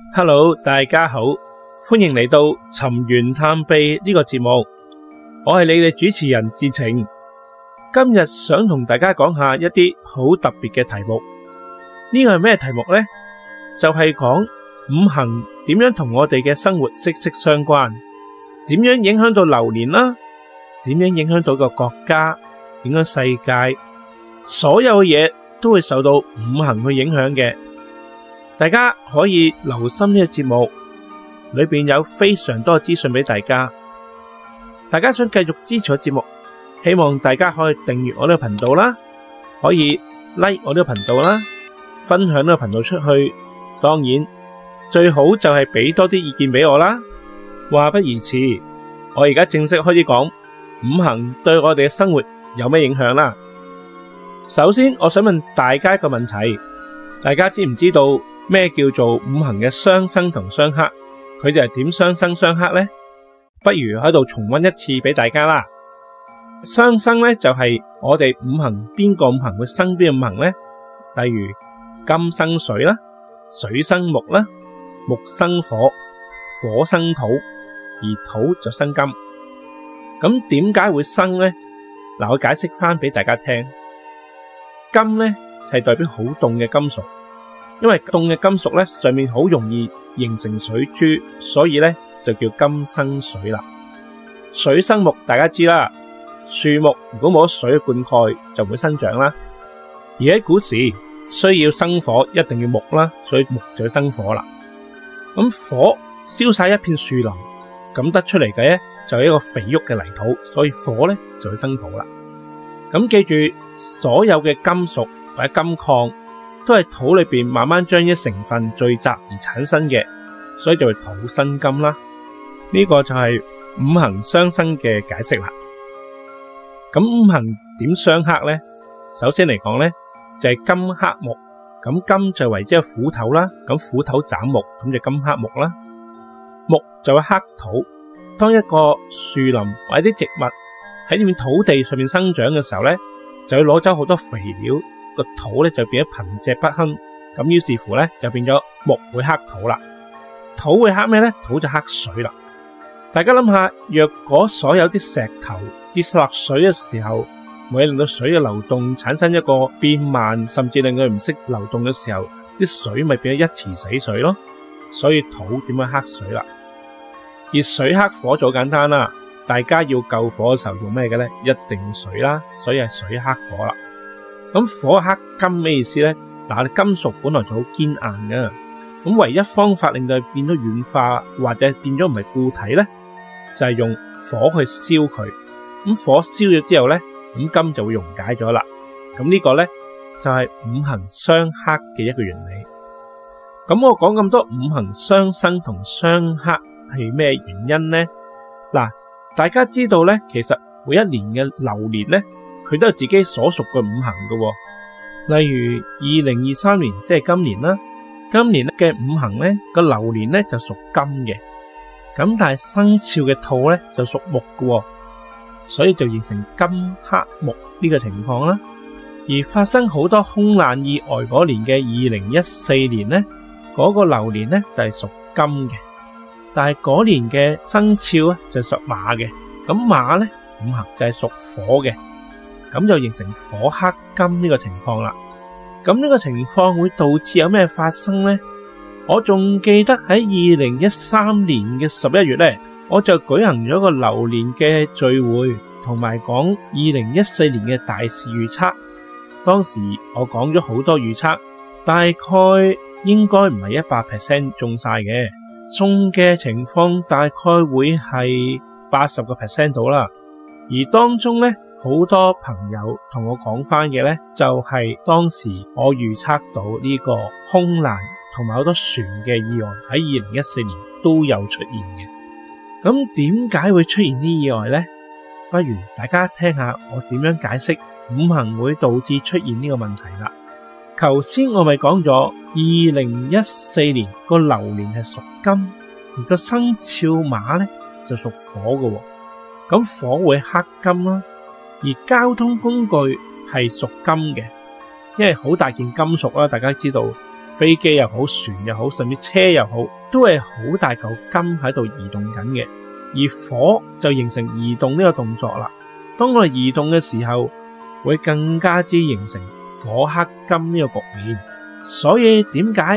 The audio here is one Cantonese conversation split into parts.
Hello， 大家好，歡迎嚟到尋源探秘呢個節目，我係你哋主持人智澄。今日想同大家講下一啲好特別嘅題目。呢個係咩題目呢？就係講五行點樣同我哋嘅生活息息相關，點樣影響到流年啦，點樣影響到個國家，影響世界，所有嘢都會受到五行去影響嘅。大家可以留心呢個節目，裏邊有非常多嘅資訊俾大家。大家想繼續支持我節目，希望大家可以訂閱我呢個頻道啦，可以 like 我呢個頻道啦，分享呢個頻道出去。當然最好就係俾多啲意見俾我啦。話不宜遲，我而家正式開始講五行對我哋嘅生活有咩影響啦。首先，我想問大家一個問題，大家知唔知道咩叫做五行嘅相生同相克？佢哋係點相生相克呢？不如喺度重溫一次俾大家啦。相生呢，就係我哋五行邊個五行會生邊個五行呢？例如金生水啦，水生木啦，木生火，火生土，而土就生金。咁點解會生呢？嗱，我解釋翻俾大家聽。金呢，係代表好凍嘅金屬。因為凍嘅金屬咧，上面好容易形成水珠，所以咧就叫金生水啦。水生木，大家知啦，樹木如果冇咗水嘅灌溉，就唔會生長啦。而喺古時需要生火，一定要木啦，所以木就要生火啦。咁火燒晒一片樹林，咁得出嚟嘅咧就係一個肥沃嘅泥土，所以火咧就會生土啦。咁記住，所有嘅金屬或者金礦都係土裏邊慢慢將啲成分聚集而產生嘅，所以就會土生金啦。呢個就係五行相生嘅解釋啦。咁五行點相克呢？首先嚟講呢，就係金克木，咁金就為之係斧頭啦，咁斧頭斬木，咁就金克木啦。木就會克土，當一個樹林或者啲植物喺呢片土地上面生長嘅時候呢，就會攞走好多肥料。個土咧就變咗貧瘠不堪，咁於是乎咧就變咗木會克土啦。土會克咩咧？土就克水啦。大家諗下，若果所有啲石頭跌落水嘅時候，會令到水嘅流動產生一個變慢，甚至令佢唔識流動嘅時候，啲水咪變咗一池死水咯。所以土點樣克水啦？而水克火就好簡單啦。大家要救火嘅時候用咩嘅咧？一定要水啦，所以係水克火啦。咁火克金咩意思呢？嗱，金屬本來就好堅硬嘅，咁唯一方法令到佢變咗軟化或者變咗唔係固體呢，就係用火去燒佢。咁火燒咗之後呢，咁金就會溶解咗啦。咁呢個呢，就係五行相克嘅一個原理。咁我講咁多五行相生同相克係咩原因呢？嗱，大家知道呢，其實每一年嘅流年呢，佢都有自己所屬嘅五行嘅。例如2023年即係今年啦，今年嘅五行咧個流年咧就屬金嘅，咁但係生肖嘅兔咧就屬木嘅，所以就形成金克木呢個情況啦。而發生好多空難意外嗰年嘅2014年咧，嗰個流年咧就係屬金嘅，但係嗰年嘅生肖咧就係屬馬嘅，咁馬咧五行就係屬火嘅。咁就形成火克金呢個情況啦。咁呢個情況會導致有咩發生呢？我仲記得喺2013年嘅11月呢，我就舉行咗個流年嘅聚會，同埋講2014年嘅大事預測。當時我講咗好多預測，大概應該唔係100% 中晒嘅，中嘅情況大概會係80% 到啦。而當中呢，好多朋友同我講翻嘅呢，就係當時我預測到呢個空難同埋好多船嘅意外喺2014年都有出現嘅。咁點解會出現呢意外呢？不如大家聽下我點樣解釋五行會導致出現呢個問題啦。頭先我咪講咗2014年個流年係屬金，而個生肖馬呢就屬火嘅。咁火會克金啦。而交通工具係屬金嘅，因為好大件金屬啦，大家知道飛機又好，船又好，甚至車又好，都係好大嚿金喺度移動緊嘅。而火就形成移動呢個動作啦。當我哋移動嘅時候，會更加之形成火克金呢個局面。所以點解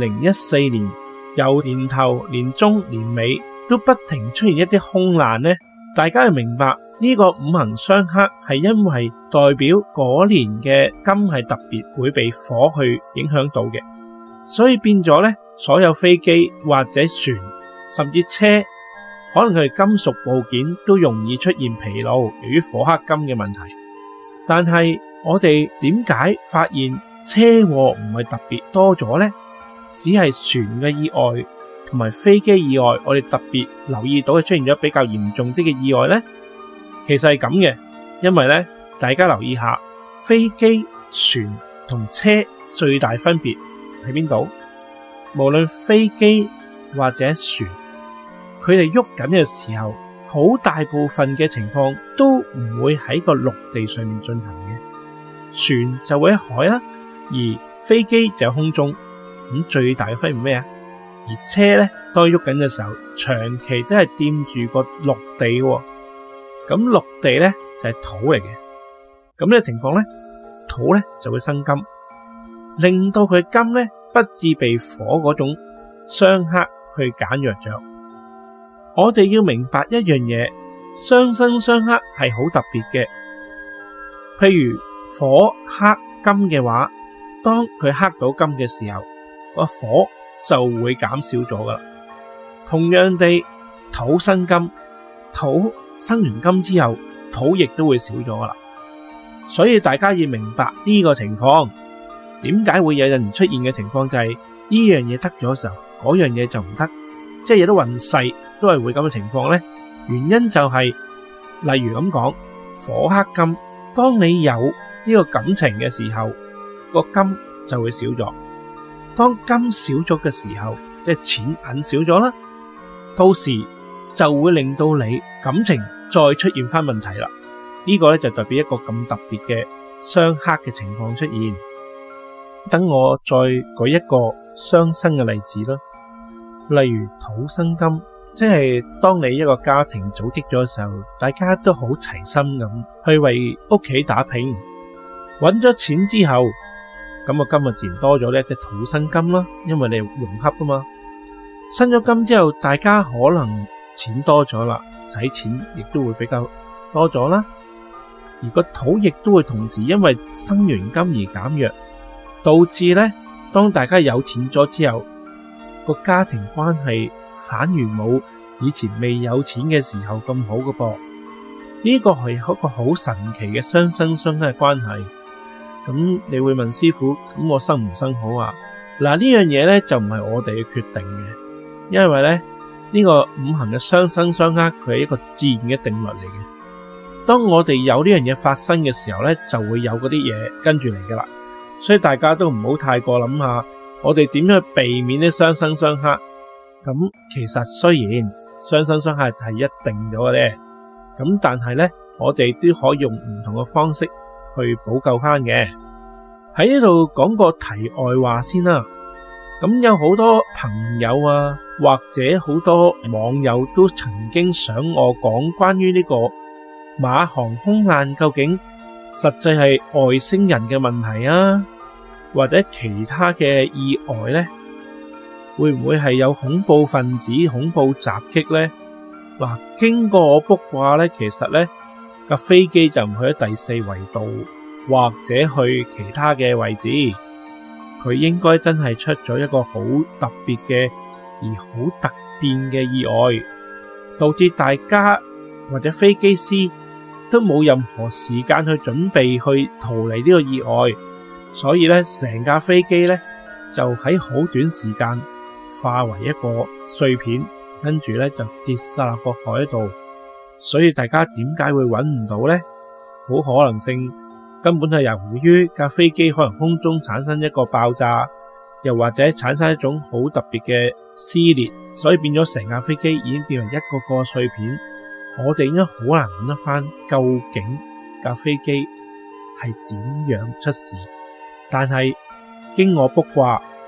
2014年由年頭、年中、年尾都不停出現一啲空難呢？大家要明白呢個五行相克係因為代表嗰年嘅金係特別會被火去影響到嘅，所以變咗呢，所有飛機或者船甚至車，可能佢哋金屬部件都容易出現疲勞，由於火克金嘅問題。但係我哋點解發現車禍唔係特別多咗呢？只係船嘅意外同埋飛機意外，我哋特別留意到係出現咗比較嚴重啲嘅意外呢？其實係咁嘅，因為呢，大家留意下，飛機、船同車最大分別喺邊度？無論飛機或者船，佢哋喐緊嘅時候，好大部分嘅情況都唔會喺個陸地上面進行嘅，船就會喺海啦，而飛機就喺空中。咁最大嘅分別咩啊？而車咧，當喐緊嘅時候，長期都係掂住個陸地嘅。咁陸地咧就係土嚟嘅。咁呢個情況咧，土咧就會生金，令到佢金咧不致被火嗰種相克去減弱咗。我哋要明白一樣嘢，相生相克係好特別嘅。譬如火克金嘅話，當佢克到金嘅時候，個火就會減少咗噶啦。同樣地，土生金，土生完金之後，土亦都會少咗噶啦。所以大家要明白呢個情況，點解會有陣時出現嘅情況就係呢樣嘢得咗嘅時候，嗰樣嘢就唔得，即係有啲運勢都係會咁嘅情況呢。原因就係，例如咁講，火克金，當你有呢個感情嘅時候，個金就會少咗。當金少咗嘅時候，即係錢銀少咗啦，到時就會令到你感情再出現翻問題啦。呢個咧就代表一個咁特別嘅相克嘅情況出現。等我再舉一個相生嘅例子啦，例如土生金，即係當你一個家庭組織咗嘅時候，大家都好齊心咁去為屋企打拼，揾咗錢之後，咁個金自然多咗呢，即係土生金啦，因為你融合噶嘛。生咗金之後，大家可能錢多咗啦，使錢亦都會比較多咗啦。而個土亦都會同時因為生完金而減弱，導致呢，當大家有錢咗之後，個家庭關係反而冇以前未有錢嘅時候咁好噶噃。呢個係一個好神奇嘅相生相克嘅關係。咁你會問師傅，咁我生唔生好啊？嗱，呢樣嘢咧就唔係我哋嘅決定嘅，因為咧呢個五行嘅相生相克，佢係一個自然嘅定律嚟嘅。當我哋有呢樣嘢發生嘅時候咧，就會有嗰啲嘢跟住嚟噶啦。所以大家都唔好太過諗下，我哋點樣去避免啲相生相克。咁其實雖然相生相克係一定咗嘅咧，咁但係咧我哋都可以用唔同嘅方式去補救翻嘅。喺呢度講個題外話先啦。咁有好多朋友啊，或者好多網友都曾經想我講關於呢個馬航空難究竟實際係外星人嘅問題啊，或者其他嘅意外呢？會唔會係有恐怖分子恐怖襲擊呢？嗱，經過我卜卦呢，其實呢架飛機就唔去咗第四維度，或者去其他嘅位置，佢應該真係出咗一個好特別嘅而好突變嘅意外，導致大家或者飛機師都冇任何時間去準備去逃離呢個意外，所以咧成架飛機咧就喺好短時間化為一個碎片，跟住咧就跌晒落個海度。所以大家點解會揾唔到呢？好可能性根本係由於架飛機可能空中產生一個爆炸，又或者產生一種好特別嘅撕裂，所以變咗成架飛機已經變為一個個碎片。我哋應該好難揾得翻究竟架飛機係點樣出事，但係經我卜卦，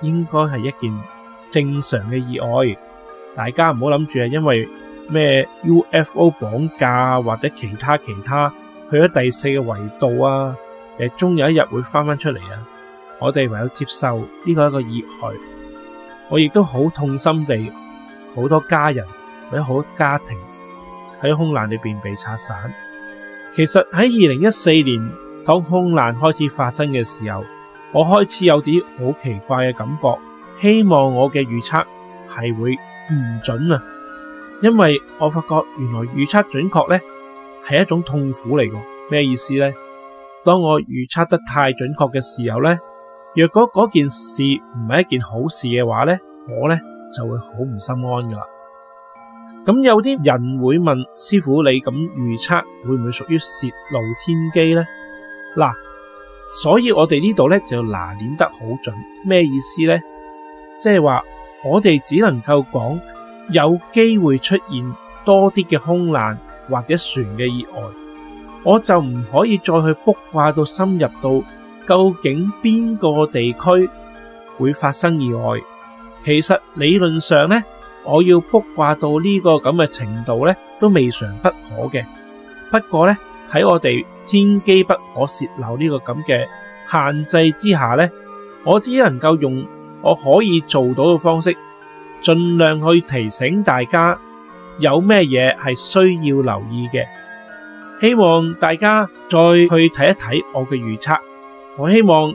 應該係一件正常嘅意外，大家唔好諗住係因為咩 UFO 綁架或者其他去咗第4個維度啊，終有一日會翻出嚟啊！我哋唯有接受呢個係一個意外。我亦都好痛心地，好多家人或者好多家庭喺空難裏邊被拆散。其實喺2014年，當空難開始發生嘅時候，我開始有啲好奇怪嘅感覺，希望我嘅預測係會唔準啊！因為我發覺原來預測準確呢係一種痛苦嚟㗎。咩意思呢？當我預測得太準確嘅時候呢，若果嗰件事唔係一件好事嘅話呢，我呢就會好唔心安噶啦。咁有啲人會問師傅，你咁預測會唔會屬於洩露天機呢？嗱，所以我哋呢度呢就拿捏得好準。咩意思呢？即係話我哋只能夠講有機會出現多啲嘅空難或者船嘅意外，我就唔可以再去卜卦到深入到究竟邊個地區會發生意外。其實理論上呢，我要卜卦到呢個咁嘅程度呢，都未嘗不可嘅。不過呢，喺我哋天機不可洩漏呢個咁嘅限制之下呢，我只能夠用我可以做到嘅方式，盡量去提醒大家有咩嘢係需要留意嘅。希望大家再去睇一睇我嘅預測。我希望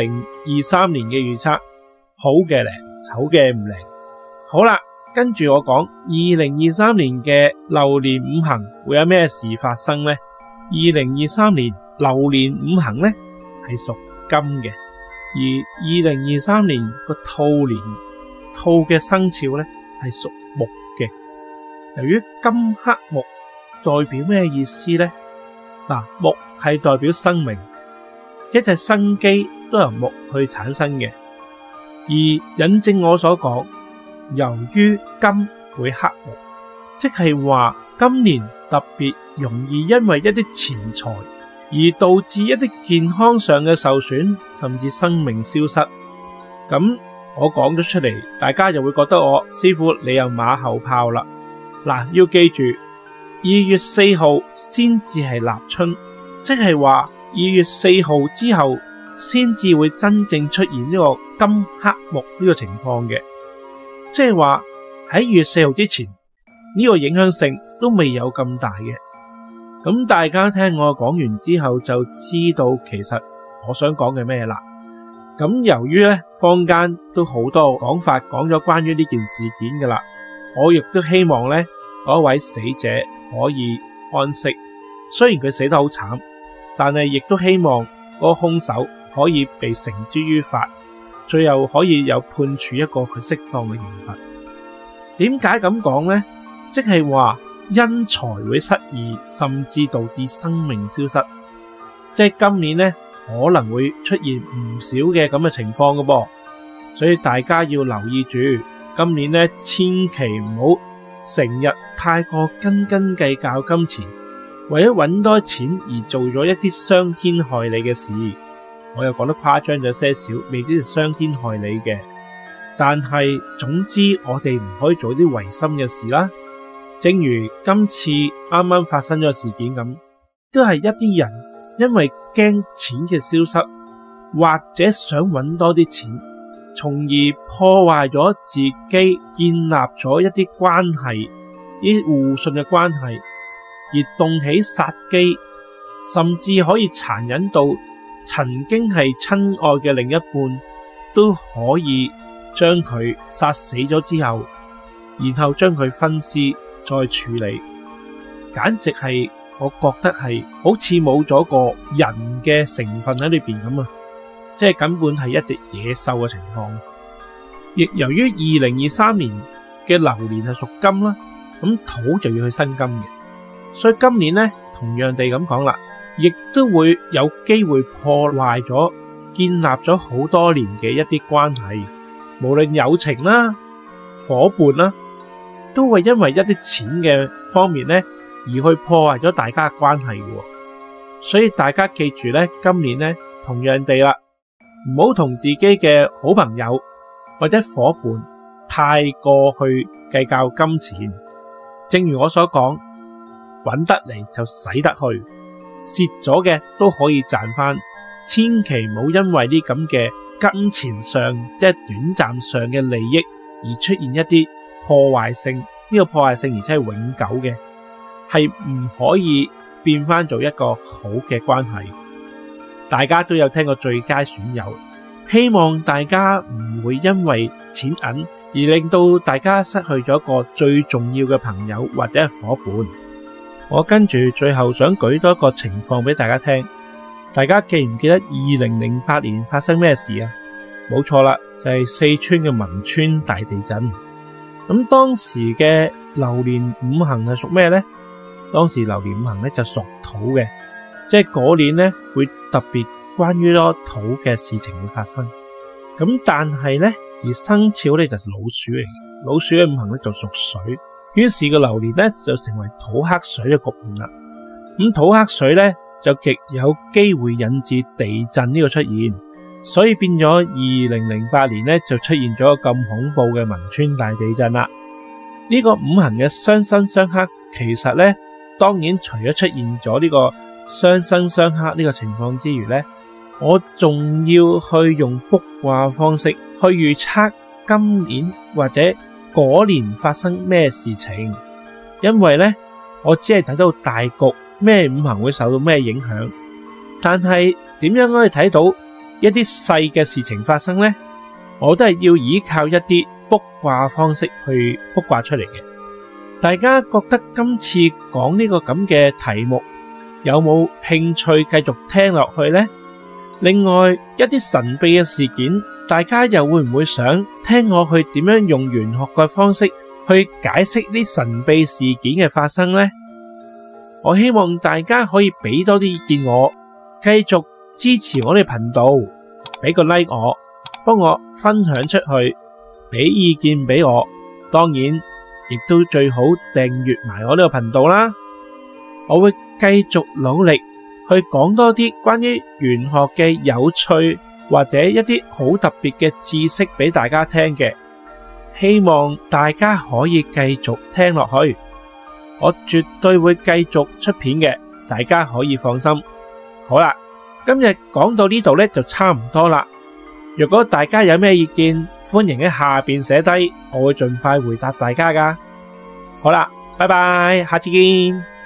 2023年嘅預測好嘅靈，醜嘅唔靈。好啦，跟住我講2023年嘅流年五行會有咩事發生呢？2023年流年五行呢係屬金嘅，而2023年個兔年，兔嘅生肖呢係屬木嘅。由於金克木代表咩意思呢？嗱，木係代表生命，一切生機都由木去產生嘅。而引證我所講，由於金會克木，即係話今年特別容易因為一啲錢財而導致一啲健康上嘅受損，甚至生命消失。咁我講咗出嚟，大家就會覺得我師傅你又馬後炮啦。嗱，要記住2月4號先至係立春，即係話2月4號之後先至會真正出現呢個金克木呢個情況嘅，即係話喺2月4號之前呢個影響性都未有咁大嘅。咁大家聽我講完之後就知道其實我想講嘅咩啦。咁由於咧坊間都好多講法講咗關於呢件事件噶啦，我亦都希望咧嗰位死者可以安息。雖然佢死得好慘，但係亦都希望嗰個兇手可以被繩之於法，最後可以有判處一個佢適當嘅刑罰。點解咁講呢？即係話因財會失義，甚至導致生命消失。即係今年呢可能會出現唔少嘅咁嘅情況㗎噃，所以大家要留意住。今年呢千祈唔好成日太過斤斤計較金錢，為咗搵多錢而做咗一啲傷天害理嘅事。我又講得誇張咗些少，未必係傷天害理嘅，但係總之我哋唔可以做啲違心嘅事啦。正如今次啱啱發生咗事件咁，都係一啲人因為驚錢嘅消失，或者想搵多啲錢，從而破壞咗自己建立咗一啲關係，啲互信嘅關係，而動起殺機，甚至可以殘忍到曾經係親愛嘅另一半都可以將佢殺死咗之後，然後將佢分屍再處理，簡直係我覺得係好似冇咗個人嘅成分喺裏邊咁啊！即係根本係一隻野獸嘅情況。亦由於2023年嘅流年係屬金啦，咁土就要去生金嘅，所以今年呢同樣地咁講啦，亦都會有機會破壞咗建立咗好多年嘅一啲關係，無論友情啦、夥伴啦，都會因為一啲錢嘅方面呢而去破壞咗大家嘅關係嘅。所以大家記住呢，今年呢同樣地啦，唔好同自己嘅好朋友或者夥伴太過去計較金錢。正如我所講，搵得嚟就使得去，蝕咗嘅都可以賺返。千祈唔好因為啲咁嘅金錢上即係短暫上嘅利益而出現一啲破壞性，呢個破壞性而且係永久嘅，係唔可以變返做一個好嘅關係。大家都有聽過最佳損友，希望大家唔會因為錢銀而令到大家失去咗一個最重要嘅朋友或者係夥伴。我跟住最後想舉多一個情況俾大家聽，大家記唔記得2008年發生咩事啊？冇錯啦，就係四川嘅汶川大地震。咁當時嘅流年五行係屬咩呢？當時流年五行咧就屬土嘅，即係嗰年咧會特別關於多土嘅事情會發生。咁但係咧而生肖咧就係老鼠嚟，老鼠嘅五行咧就屬水，於是個流年咧就成為土克水嘅局面啦。咁土克水咧就極有機會引致地震呢個出現，所以變咗2008年咧就出現咗咁恐怖嘅汶川大地震啦。呢個五行嘅相生相克，其實咧當然除咗出現咗呢個相生相克呢個情況之餘咧，我仲要去用卜卦方式去預測今年或者嗰年發生咩事情，因為咧我只係睇到大局，咩五行會受到咩影響，但係點樣可以睇到一啲細嘅事情發生呢？我都係要依靠一啲卜卦方式去卜卦出嚟嘅。大家覺得今次講呢個咁嘅題目有冇興趣繼續聽落去呢？另外一啲神秘嘅事件，大家又會唔會想聽我去點樣用玄學嘅方式去解釋啲神秘事件嘅發生呢？我希望大家可以俾多啲意見我，繼續支持我哋頻道，俾個 like 我，幫我分享出去，俾意見俾我。當然亦都最好訂閱埋我呢個頻道啦。我會繼續努力去講多啲關於玄學嘅有趣或者一啲好特別嘅知識俾大家聽嘅，希望大家可以繼續聽落去。我絕對會繼續出片嘅，大家可以放心。好啦，今日講到呢度咧就差唔多啦。如果大家有咩意見，歡迎喺下邊寫低，我會盡快回答大家噶。好啦，拜拜，下次見。